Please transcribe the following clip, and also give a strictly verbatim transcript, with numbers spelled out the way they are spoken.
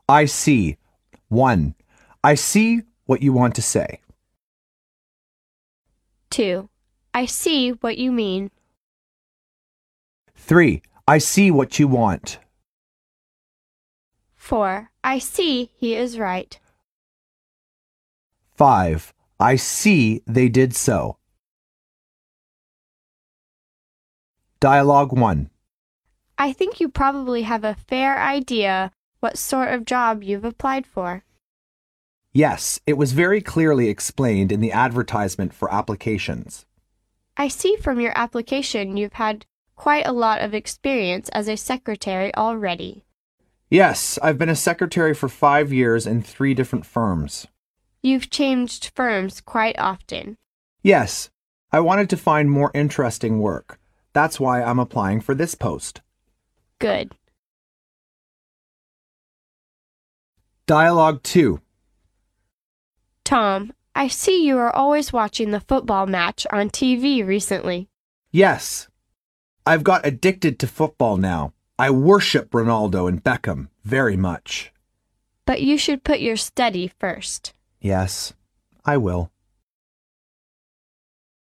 I see. one. I see what you want to say. two. I see what you mean. three. I see what you want. four. I see he is right. five. I see they did so. Dialogue one. I think you probably have a fair idea what sort of job you've applied for. Yes, it was very clearly explained in the advertisement for applications. I see from your application you've had quite a lot of experience as a secretary already. Yes, I've been a secretary for five years in three different firms. You've changed firms quite often. Yes, I wanted to find more interesting work. That's why I'm applying for this post. Good. Dialogue two. Tom, I see you are always watching the football match on T V recently. Yes, I've got addicted to football now. I worship Ronaldo and Beckham very much. But you should put your study first. Yes, I will.